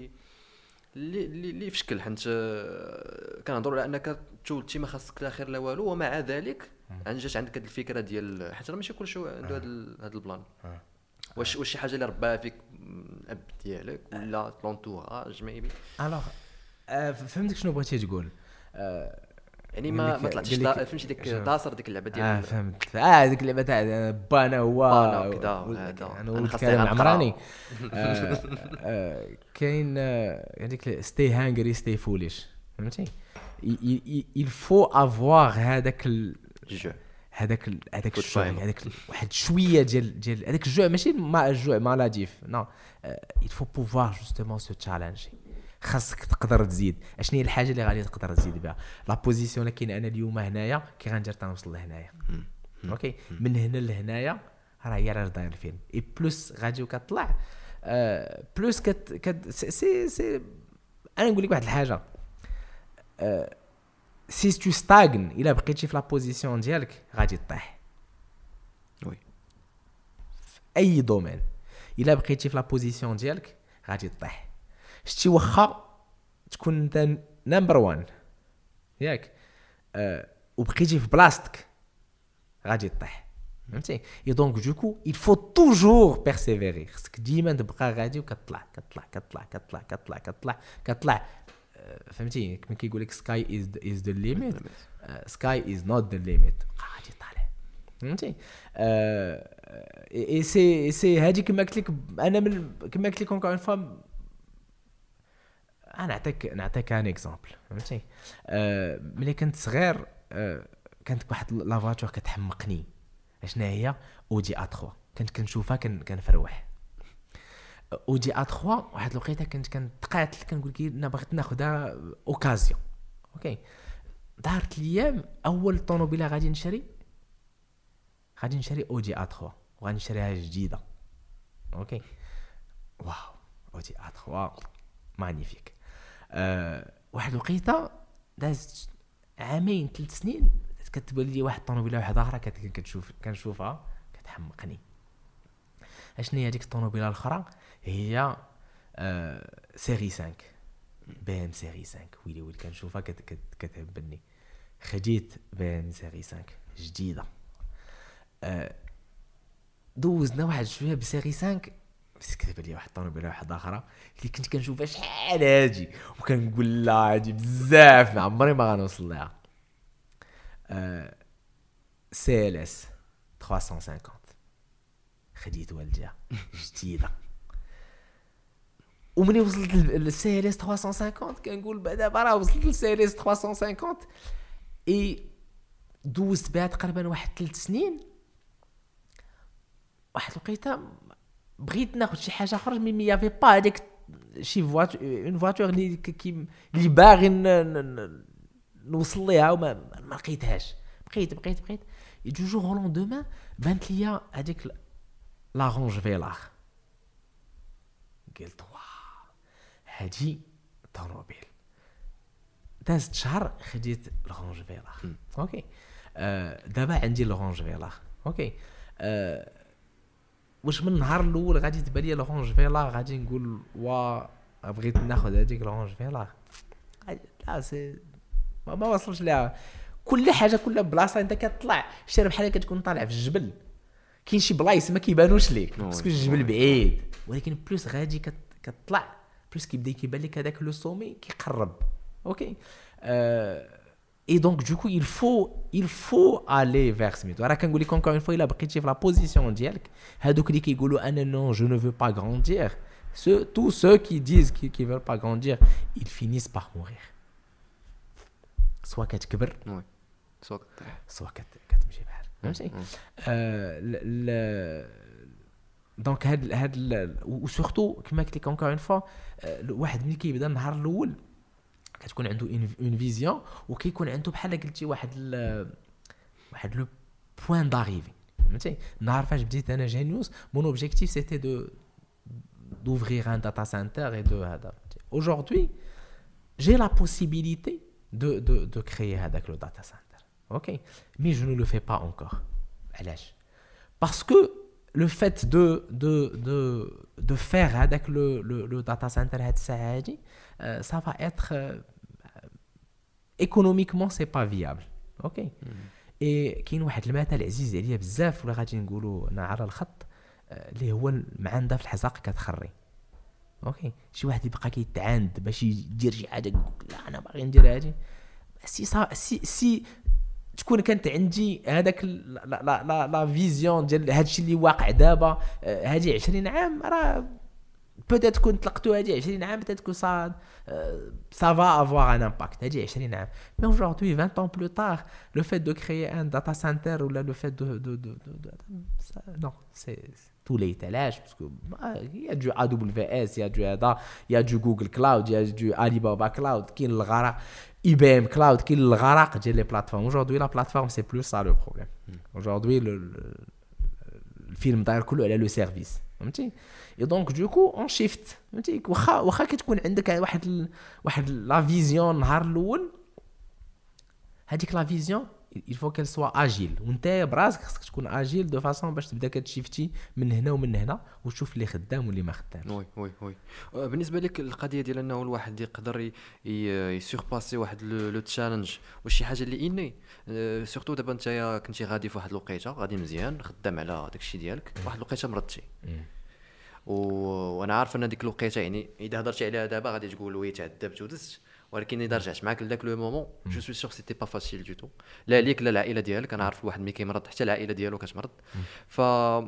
اللي في شكل حيت كنهضروا على انك تولتي ما خاصك لا خير لا والو ومع ذلك جات عندك هذه الفكره ديال حيت راه ماشي كلشي عنده هذا البلان واش شي حاجه اللي رباها فيك الاب ديالك ولا لونتوراج ميبي الوغ فهمتك شنو بغيتي تقول يعني ما طلعتش فهمتي ديك داصر ديك اللعبه ديال فهمت ديك اللعبه تاع بانا هو انا ولد كريم العمراني كاين هذيك ستي هانغري ستي فوليش فهمتي il faut avoir هذاك هذاك الجوع، هذاك واحد شويه ديال هذاك الجوع، ماشي مع الجوع مالاديف نو. il faut pouvoir justement se challenger. خاصك تقدر تزيد. اشنو هي الحاجه اللي غادي تقدر تزيد بها؟ لا بوزيسيون اللي كاين انا اليوم هنايا كي غندير تنوصل لهنايا. اوكي من هنا لهنايا راه هي راه داير الفيلم اي بلس غادي وكطلع بلس سي انا نقول لك واحد الحاجه. سي تو ستاغن الا بقيتي في لا بوزيسيون ديالك غادي تطيح. وي في اي دومين الا بقيتي في لا بوزيسيون ديالك غادي تطيح. شتي واخا تكون انت نمبر 1 ياك وبقيتي في بلاصتك غادي تطيح. فهمتي؟ اي دونك دوكو il faut toujours persévérer. خصك ديما تبقى غادي وكتطلع كتطلع كتطلع كتطلع كتطلع كتطلع كتطلع. فهمتي كما كيقول لك sky is the limit, sky is not the limit. غادي طالع. فهمتي؟ اي سي هادي كما قلت لك انا كما قلت لك اونكور اون فوا. انا نعطيك ان اكزامبل. فهمتي؟ ملي كنت صغير كانت واحد لا فواتور كتحمقني. اشنا هي اودي A3 كنت كنشوفها كنفروح. اودي A3 واحد الوقيته كنت كنتقاتل كنقول كي انا بغيت ناخذها اوكازيون. اوكي دارت ليام اول طوموبيله غادي نشري اودي A3 وغادي نشريها جديده. اوكي واو اودي A3 مانيفيك. واحد الوقيته دازت عامين 3 سنين كتبان لي واحد الطوموبيله واحده اخرى كنشوفها كتحمقني. اشنو هي هذيك الطوموبيله الاخرى؟ هي سيري 5 بي ام سيري 5. ويلي كنشوفها كتهبني. خديت بي ام سيري 5 جديده. دوزنا واحد شويه بسيري 5 بس كتبان لي واحد الطوموبيله واحده اخرى اللي كنت كنشوفها شحال هادي وكنقول لا هادي بزاف ما عمري ما غنوصل لها. CLS 350 خديت والديها جديده. ومني وصلت للCLS 350 كنقول دابا راه وصلت للCLS 350 اي دوزت بها تقريبا واحد 3 سنين. واحد الوقيته بغيت ناخذ شي حاجه اخرى مي يافي با هذيك شي فواتور اللي باغي نوصل ليها وما لقيتهاش. بقيت دو جور او لوندومان بانت ليا هذيك لا رونج فيلار. قلت واه هادي طوموبيل. دازت شهر خديت الرونج فيلار. اوكي دابا عندي الرونج فيلار. اوكي واش من النهار الاول غادي تبان لي الرونج فيلار غادي نقول وا بغيت ناخذ هذيك الرونج فيلار؟ لا سي ما وصلش لها. كل حاجه كل بلاصه انت كتطلع شي بحال كتكون طالع في الجبل. كاين شي بلايص ما كيبانوش ليك باسكو الجبل بعيد ولكن بلوس غادي كتطلع بلوس كيبدا كيبان لك هذاك لو سومي كيقرب. اوكي اي دونك دوكو il faut aller vers سميتو. راه كنقول لك encore une fois الا بقيتي في لا بوزيسيون ديالك هادوك اللي كيقولوا انا نو جو نو فو با غراندير tous ceux qui disent qui veulent pas grandir ils finissent par mourir. سواء كتكبر سواء كتمشي بحال. فهمتي؟ دونك هاد وسورتو كما قلت لك اونكور اون فوا واحد ملي كيبدا النهار الاول كتكون عنده اون فيزيون وكيكون عنده بحال قلتي واحد لو بوين داريفي. فهمتي؟ النهار فاش بديت انا جينيوس مون اوبجيكتيف سيتي d'ouvrir un data center et de هذا. Aujourd'hui j'ai la possibilité de créer هذاك le data center. OK mais je ne le fais pas encore. علاش؟ parce que le fait de faire هذاك le data center هاد الساعه هادي ça va être économiquement c'est pas viable. OK et كاين واحد المثل عزيز عليا بزاف ولا غادي نقولوا انا على الخط اللي هو المعانده في الحزاق كتخري. اوكي شي واحد يبقى كيتعاند باش يدير شي حاجه لا انا باغي ندير هادي سي تكون كانت عندي هذاك لا فيزيون ديال هادشي اللي واقع دابا هادي 20 عام راه peut-être كنت طلقتو هذه 20 عام peut-être que ça va avoir un impact هذه 20 عام. Mais aujourd'hui 20 ans plus tard le fait de créer un data center ou là le fait de ça, non c'est tous les étalages parce que il y a du AWS, il y a du ADA, il y a du Google Cloud, il y a du Alibaba Cloud, qui le غرق IBM Cloud, qui le غرق ديال les plateformes. Aujourd'hui la plateforme c'est plus ça le problème. Aujourd'hui le film داير كله على le service. فهمتي؟ et donc du coup on shift. فهمتي؟ واخا كتكون عندك واحد لا فيزيون نهار الاول هذيك لا فيزيون il faut qu'elle soit agile وانت براسك خصك تكون اجيل دو فاصون باش تبدا كتشيفتي من هنا ومن هنا وتشوف اللي خدام واللي ما خدامش. وي بالنسبه لك القضيه ديال انه الواحد يقدر يسورباسي واحد لو تشالنج وشي حاجه اللي اني سورتو دابا انت كنتي غادي في واحد الوقيته غادي مزيان خدام على داك الشيء ديالك واحد الوقيته مرضتي وانا عارف ان ديك الوقيته يعني اذا هضرتي عليها دابا غادي تقول وي تعذبت ودزت ولكن اذا رجعت معاك لذاك لو مومون جو سوي سور سيتي با فاسيل دو تو لا ليك لا العائله ديالك. انا عارف واحد ملي كيمرض حتى العائله ديالو كتمرض. ف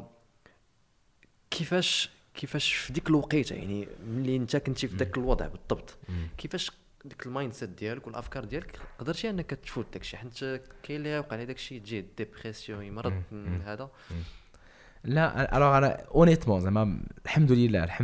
كيفاش في ديك الوقيته يعني ملي انت كنتي في داك الوضع بالضبط كيفاش ديك المايند سيت ديالك والافكار ديالك قدرتي انك تفوت داكشي حيت كاين اللي وقع عليه داكشي تجي ديبرسيون يمرض هذا لا alors انا honnêtement زعما الحمد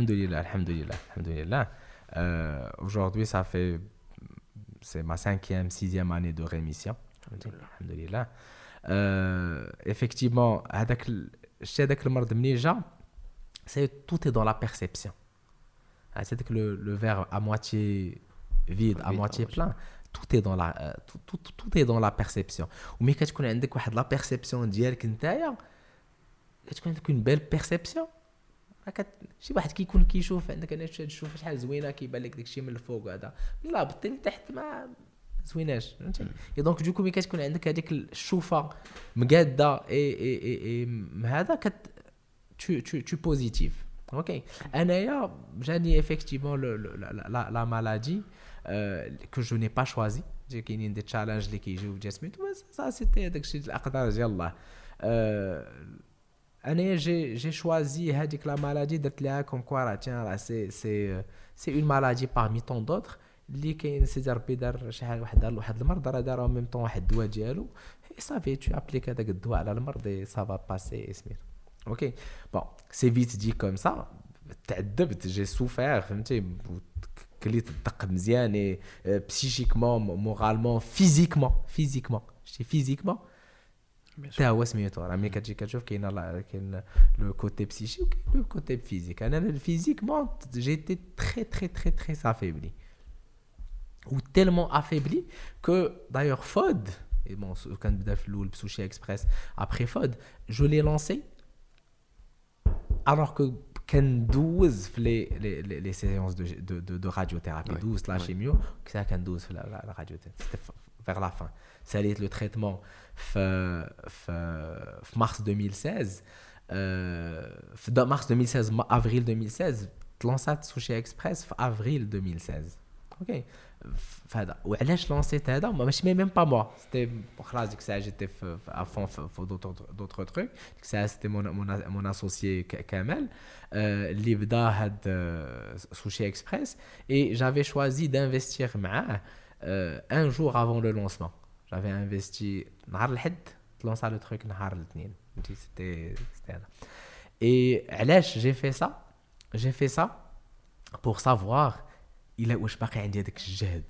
لله aujourd'hui ça fait c'est ma 5e 6e année de rémission alhamdoulilah. Effectivement هذاك المرض منين جا c'est tout est dans la perception. C'est que le verre à moitié vide à moitié plein tout est dans la perception. ومي كتكون عندك واحد لا بيرسيبسيون ديالك نتايا كتكون عندك une belle perception شي واحد كيكون كيشوف عندك انا تشوف شحال زوينه كيبان لك داكشي من الفوق وهذا لا بطين تحت ما زويناش فهمتي. دونك دوكو ملي كتكون عندك هذيك الشوفه مقاده اي هذا tu بوزيتيف. اوكي انايا جاني effectivement la maladie que je n'ai pas choisi. كاينين دي تشالنج اللي كيجيو في جسمي ça c'était داكشي الاقدار ديال الله. انا j'ai choisi هذيك لا مالادي درت لها كوم كوا راه تيان سي اون مالادي parmi tant d'autres اللي كاين سيدي ربي دار شحال واحد المرض راه دار ميم طون واحد الدواء ديالو صافي تو ابليك هذاك الدواء على المرض سا فا باسي اسمير. اوكي بون سي فيت دي كوم سا تعذبت جي سوفير فهمتي كليت الدق مزيان بسيشيكمون مورالمون فيزيكمون شتي فيزيكمون تا هو سميتو راه ملي كتجي كتشوف كاين لو كوتي بسيشي وكاين لو كوتي فيزيك. انا الفيزيكمون جيتي تري تري تري تري افيبلي ou tellement affaibli que d'ailleurs FOD et bon quand بدا في الاول بسوشي اكسبريس après FOD je l'ai lancé alors que كندوز في les séances de radiothérapie douce la chimio que ça كندوز في la radiothérapie vers la fin. ساليت le traitement في mars 2016 في mars 2016 avril 2016 تلانسات سوشي اكسبريس في avril 2016. اوكي فهذا وعلاش لونسيت هذا ماشي ميم با موا سيتي خلاص ديك الساعه جيتي في افون في دوطر تروك ديك الساعه سيتي مون اسوسيي كمال اللي بدا هاد سوشي اكسبريس اي جافي شوازي دانفستير معاه ان جور افون لو لونسمون جافي انفستي نهار الحد تلونسا لو تروك نهار الاثنين فهمتي سيتي هذا. اي علاش جي في سا بور سافوار إلا واش باقي عندي هذاك الجهد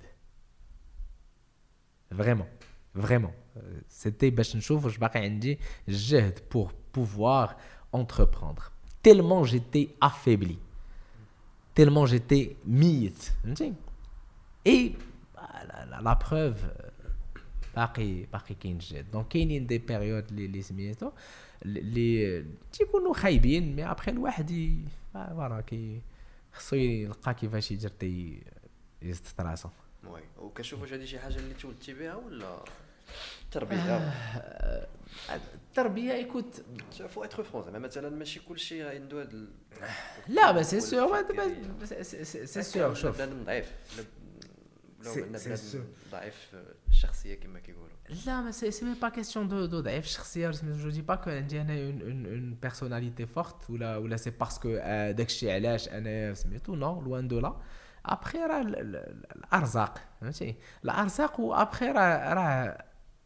فريمون سيتي باش نشوف واش باقي عندي الجهد بور بوفوار entreprendre tellement j'étais affaibli tellement j'étais ميت فهمتي. اي لا بروف باقي كاين الجهد. دونك كاينين دي بيريود اللي سميتو اللي تيكونوا خايبين مي ابخي الواحد فوالا كي خصو يلقى كيفاش يجري يزت راسو. وي وكنشوف واش هذه شي حاجه اللي تولدتي بها ولا التربيه التربيه يكوت فو اتر فرونس زعما مثلا ماشي كلشي عنده هذا لا بس سي سور سي سور شوف بنادم ضعيف ضعيف الشخصيه كما كيقولوا. لا ما سي مي با كيسيون دو ضعيف الشخصيه. جو دي با كو عندي انا اون بيرسوناليتي فورت ولا سي باسكو داكشي علاش انا سميتو نو لوان دو لا. ابخي راه الارزاق فهمتي الارزاق. وابخي راه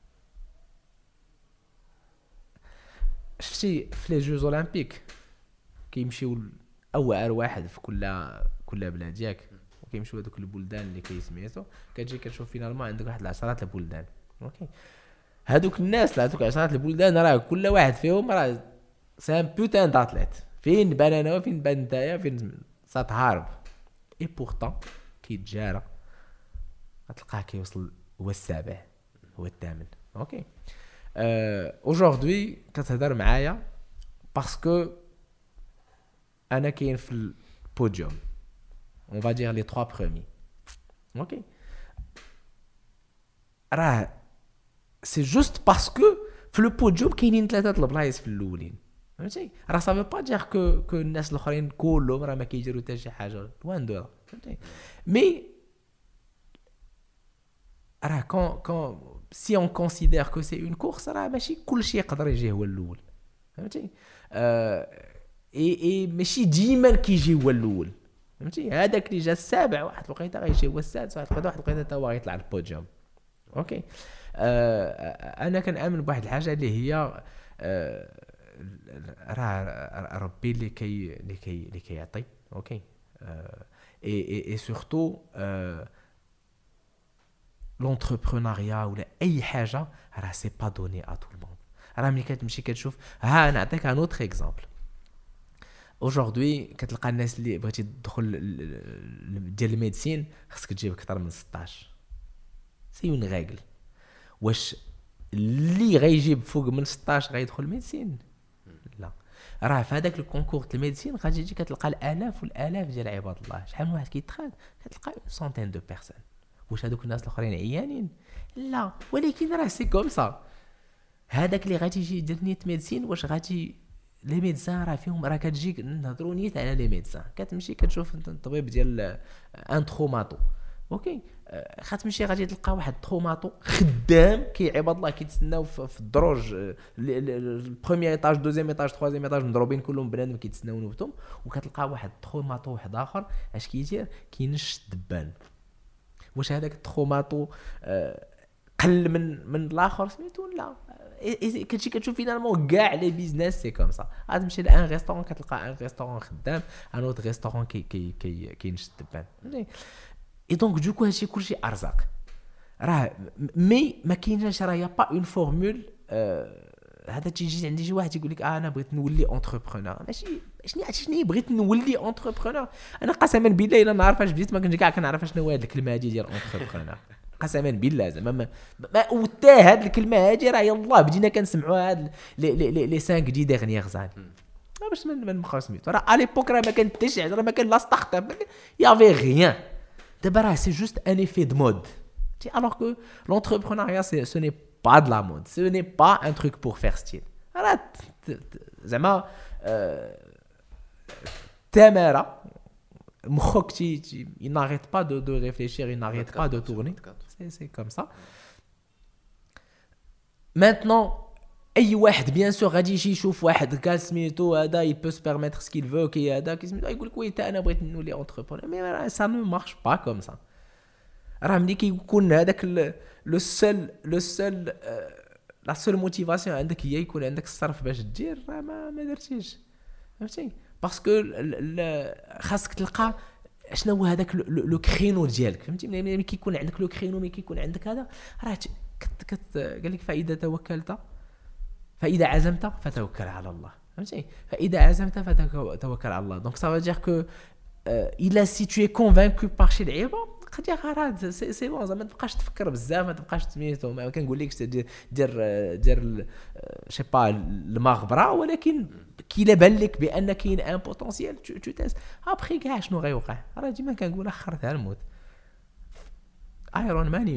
شفتي في لي جوز اولمبيك كيمشيو اوعر واحد في كل بلاد ياك وكيمشيو هذوك البلدان اللي كيسميتو كتجي كتشوف فينالمون عندك واحد 10 البلدان. اوكي هذوك الناس هذوك 10 البلدان راه كل واحد فيهم راه سان بوتان داتليت. فين بان انا وفين بان نتايا فين ساتهارب اي بورطون كيتجارى غتلقاه كيوصل هو السابع هو الثامن. اوكي aujourd'hui كتهضر معايا باسكو انا كاين في البوديوم on va dire les 3 premiers. OK راه سي جوست باسكو في البوديوم كاينين 3 البلايص في الاولين فهمتي. راه صافي با دير كو الناس الاخرين كلهم راه ما كيديروا حتى شي حاجه وين دو فهمتي. مي راه كون si on considère que c'est une course راه ماشي كلشي يقدر يجي هو الاول فهمتي. اي ماشي ديما كيجي هو الاول فهمتي. هذاك اللي جا السابع واحد الوقيته غيجي هو السادس واحد الوقيته حتى هو غيطلع البوديوم. اوكي انا كنامن بواحد الحاجه اللي هي راه ربي اللي كيعطي. اوكي اي سورتو l'entrepreneuriat ولا اي حاجه راه سي با دوني ا تو الموند. راه ملي كتمشي كتشوف ها نعطيك ان اوتر اكزامبل. aujourd'hui كتلقى الناس اللي بغيتي تدخل ديال الميديسين خصك تجيب اكثر من 16 سي اون ريغل. واش اللي غيجيب فوق من 16 غيدخل الميديسين؟ لا. راه في هذاك الكونكور ديال الميديسين غادي تجي كتلقى الالاف والالاف ديال عباد الله. شحال من واحد كيتخاد كتلقى سونتين دو بيرسون. واش هذوك الناس الاخرين عيانين؟ لا. ولكن راه سي كوم سا. هذاك اللي غادي يجي يدير نيت ميديسين واش غادي لي ميدسان راه فيهم راه كتجيك نهضروا نيت على لي ميدسان كتمشي كتشوف الطبيب ديال ان تروماتو. اوكي غتمشي غادي تلقى واحد تروماتو خدام عباد الله كيتسناو في الدروج البروميير ايطاج دوزيام ايطاج ثروازيام ايطاج مضروبين كلهم بنادم كيتسناو نوبتهم. وكتلقى واحد تروماتو واحد اخر اش كيدير كينش الدبان. واش هذاك التروماتو قل من الاخر سميتو؟ لا. كتجي كتشوف فينالمون كاع لي بيزنس سي كوم سا. غتمشي لان ريستورون كتلقى ان ريستورون خدام ان اوت ريستورون كينش الدبان. اي دونك دوكو هادشي كلشي ارزاق راه مي ما كايناش راه يا با اون فورمول. هذا تيجي عندي شي واحد يقول لك انا بغيت نولي اونتربرونور. ماشي شنو بغيت نولي اونتربرونور. انا قسما بالله الا نعرف اش بديت ما كنت كاع كنعرف شنو هي هذه الكلمه هذه ديال اونتربرونور. قسما بالله زعما ما وتا هذه الكلمه هذه راه يلاه بدينا كنسمعوها هاد لي 5 دي ديغنيير زان باش من نبقاو سميتو. راه على ليبوك راه ما كان حتى شي حاجه راه ما كان لا ستارت اب يافي غيان. دابا راه سي جوست ان ايفي دو مود تي alors que l'entrepreneuriat ce n'est pas de la mode, ce n'est pas un truc pour faire style. راه زعما تماره مخك il n'arrête pas de réfléchir, il n'arrête pas de tourner. C'est comme ça. Maintenant اي واحد بيان سور غادي يجي يشوف واحد كاع سميتو هذا il peut se permettre ce qu'il veut كي هذا كيسميتو يقول لك وي تا انا بغيت نولي اونتربرونور. مي ça ne marche pas comme ça. راه ملي كيكون هذاك لو سول لا سول موتيفاسيون عندك هي يكون عندك الصرف باش دير راه ما درتيش فهمتي. باسكو خاصك تلقى شنو هو هذاك لو كرينو ديالك فهمتي. ملي كيكون عندك لو كرينو ملي كيكون عندك هذا راه قال لك فاذا توكلت فاذا عزمت فتوكل على الله فهمتي. فاذا عزمت فتوكل على الله. دونك ça veut dire que il a si tu es convaincu par شي لعيبه قد يا غراد سي بون زعما ما تبقاش تفكر بزاف ما تبقاش سميتو ما كنقول لكش دير شي با المغبره ولكن كي لا بان لك بان كاين ان بوتونسييل تو تيست ابخي كاع شنو غيوقع. راه ديما كنقول اخرتها الموت. ايرون مان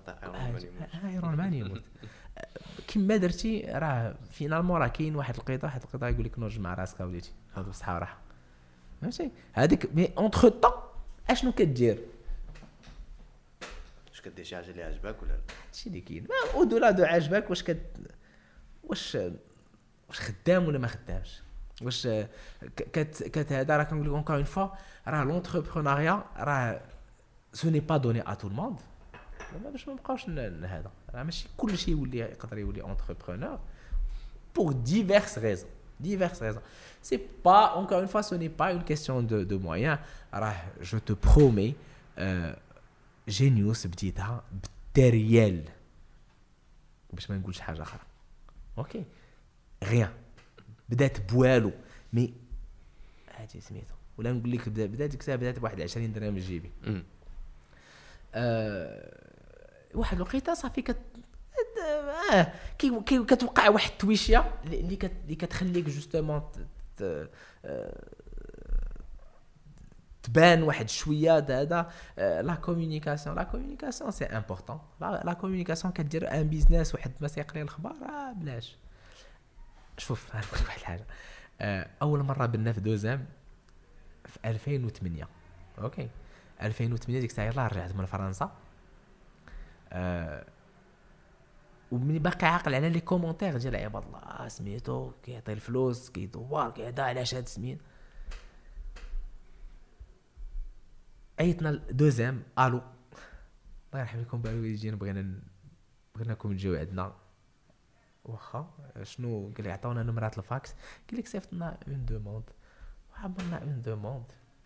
يموت كيما درتي راه فينالمون راه كاين واحد القيطه يقول لك نوج مع راسك وليتي هذا بصحه راحه فهمتي. هذيك مي اونتر طون اشنو كدير واش كدير شي حاجه اللي عجبك ولا لا؟ هادشي اللي كاين او دولا دو عجبك واش خدام ولا ما خدامش واش هذا راه كنقول لك اونكور اون فوا راه لونتربرونيا راه سو ني با دوني ا تو الموند باش ما نبقاوش هذا راه ماشي كلشي يولي يقدر يولي انتربرونور pour diverses raisons c'est pas encore une fois ce n'est pas une question de moyens راه je te promets Genius بديتها بالتريال باش ما نقولش حاجه اخرى اوكي غيان بدات بوالو مي هادي سميتو ولا نقول لك بدات ديك الساعه بدات بواحد 20 درهم من جيبي واحد الوقيته صافي كتوقع واحد التويشيه اللي كتخليك جوستومون تبان واحد شويه هذا لا كومونيكاسيون سي امبورطون لا كومونيكاسيون كدير ان بيزنس واحد ما سيقري الخبار بلاش شوف نقول واحد الحاجه اول مره بنا في دوزام في 2008 اوكي 2008 ديك الساعه يلاه رجعت من فرنسا ومني باقي عاقل على لي كومونتير ديال عباد الله سميتو كيعطي الفلوس كيدور كيهدا علاش هاد سمين عيطنا دوزام الو الله يرحم لكم بالو يجينا بغيناكم تجيو عندنا واخا شنو قال لي عطاونا نمرات الفاكس قال لك صيفطنا اون دوموند وعملنا اون دوموند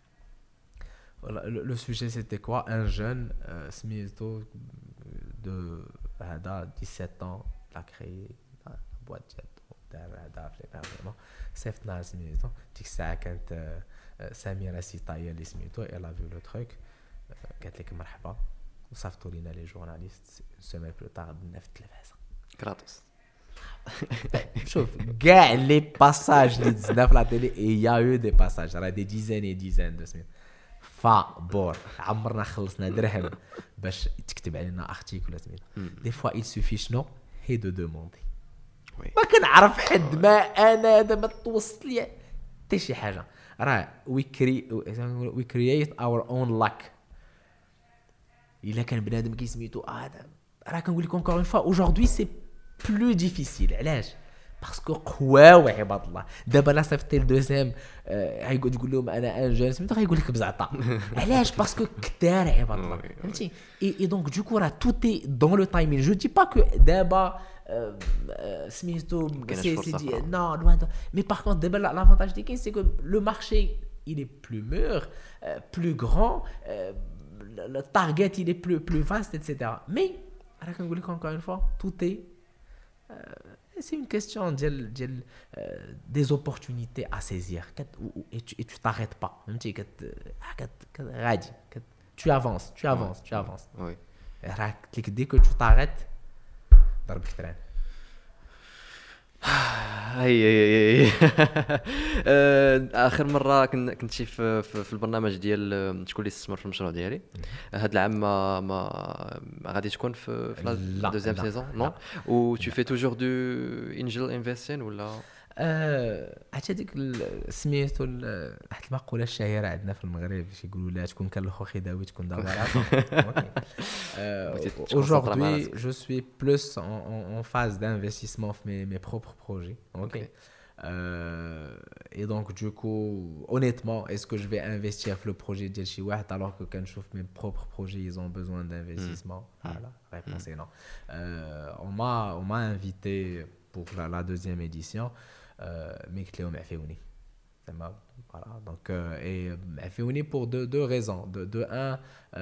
le sujet c'était quoi un jeune سميتو de هذا 17 ans il a créé la boîte دار هذا في البرنامج صيفطنا سميتو ديك الساعه كانت سميرة سيطايا اللي سميتو elle a vu le truc قالت لك مرحبا وصيفطوا لينا لي جورناليست سيمين بلو طار بدنا في التلفازه كراتوس شوف كاع لي باساج اللي دزنا في لا تيلي يا يو دي باساج راه دي ديزان دو سمين فابور عمرنا خلصنا درهم باش تكتب علينا ارتيكل سمين دي فوا il suffit شنو هي دو دوموندي ما كنعرف حد ما انا هذا ما توصل لي حتى شي حاجه راه we create our own luck الا كان بنادم كيسميتو هذا راه كنقول لكم encore une fois aujourd'hui c'est plus difficile علاش باسكو قواو عباد الله دابا لا صيفطي الدوزيام غايقول تقول لهم انا ان جون سميتو غايقول لك بزعطه علاش باسكو كثار عباد الله فهمتي اي دونك دوكو راه توتي دون لو تايمين جو دي با كو دابا سميتو سي دي نو لوان مي باغ كونط دابا لافونتاج دي كاين سي كو لو مارشي il est plus mûr plus grand le target il est plus vaste etc mais راه كنقول لك encore une fois tout est c'est une question des opportunités à saisir et tu t'arrêtes pas فهمتي غادي tu avances oui راه قلت لك dès que tu t'arrêtes ضربك تران هي اخر مره كنت شي في البرنامج ديال شكون اللي استثمر في المشروع ديالي هذا العام ما غادي تكون في لا دوزيام سيزون نو و tu fais toujours du angel investing ولا حتى ديك سميتو واحد المقوله الشهيره عندنا في المغرب يقولوا لا تكون كالخوخي داوي تكون دابا aujourd'hui je suis plus en phase d'investissement في mes propres projets ok et donc du coup honnêtement est-ce que je vais investir في le projet ديال شي واحد alors que كنشوف mes propres projets ils ont besoin d'investissement voilà réponse est non on m'a invité pour la deuxième édition mais que لهم عفيوني تمام voilà donc et عفيوني pour deux raisons de un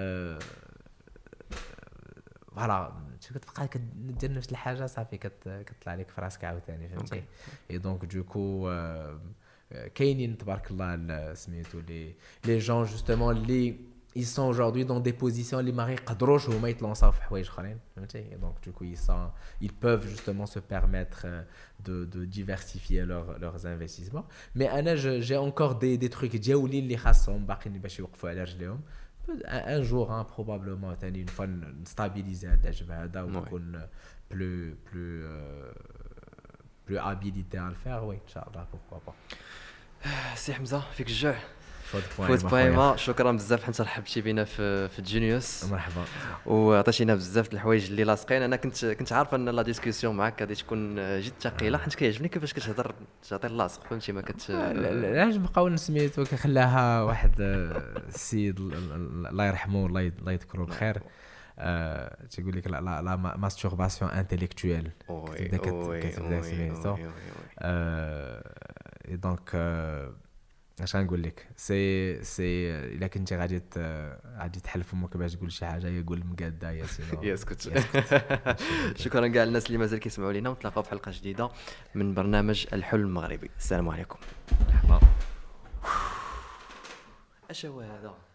voilà كتبقى كدير نفس الحاجه صافي كتطلع لك في راسك عاوتاني فهمتي et donc du coup كاينين تبارك الله سميتو les gens justement اللي ils sont aujourd'hui dans des positions اللي ما يقدروش هما يتلونساو في حوايج اخرين فهمتي et donc du coup ils peuvent justement se permettre de diversifier leurs investissements mais انا j'ai encore des trucs ديالي اللي خاصهم باقيين باش يوقفوا على رجليهم un jour hein, probablement ثاني une fois stabiliser هذا الجبهه هذا ونكون plus habilité à le faire oui inchallah pourquoi pas سي حمزه فيك الجوع فوت بويما شكرا بزاف حيت رحبتي بينا في جينيوس. مرحبا. وعطيتينا بزاف د الحوايج اللي لاصقين. انا كنت عارف ان لا ديسكوسيون معاك غادي تكون جد ثقيله حيت كيعجبني كيفاش كتهضر تعطي اللاصق فهمتي ما علاش بقاو سميتو كخلاها واحد السيد الله يرحمه الله يذكره بخير تيقول لك لا ماستورباسيون انتيليكتويل كتبدا سميتو اي دونك اش غنقول لك سي الا كنتي غادي تحل فمك باش تقول شي حاجه يقول المقاده يا سينو يسكت. شكرا كاع الناس اللي مازال كيسمعوا لينا ونتلاقاو في حلقه جديده من برنامج الحلم المغربي. السلام عليكم. مرحبا. اش هو هذا؟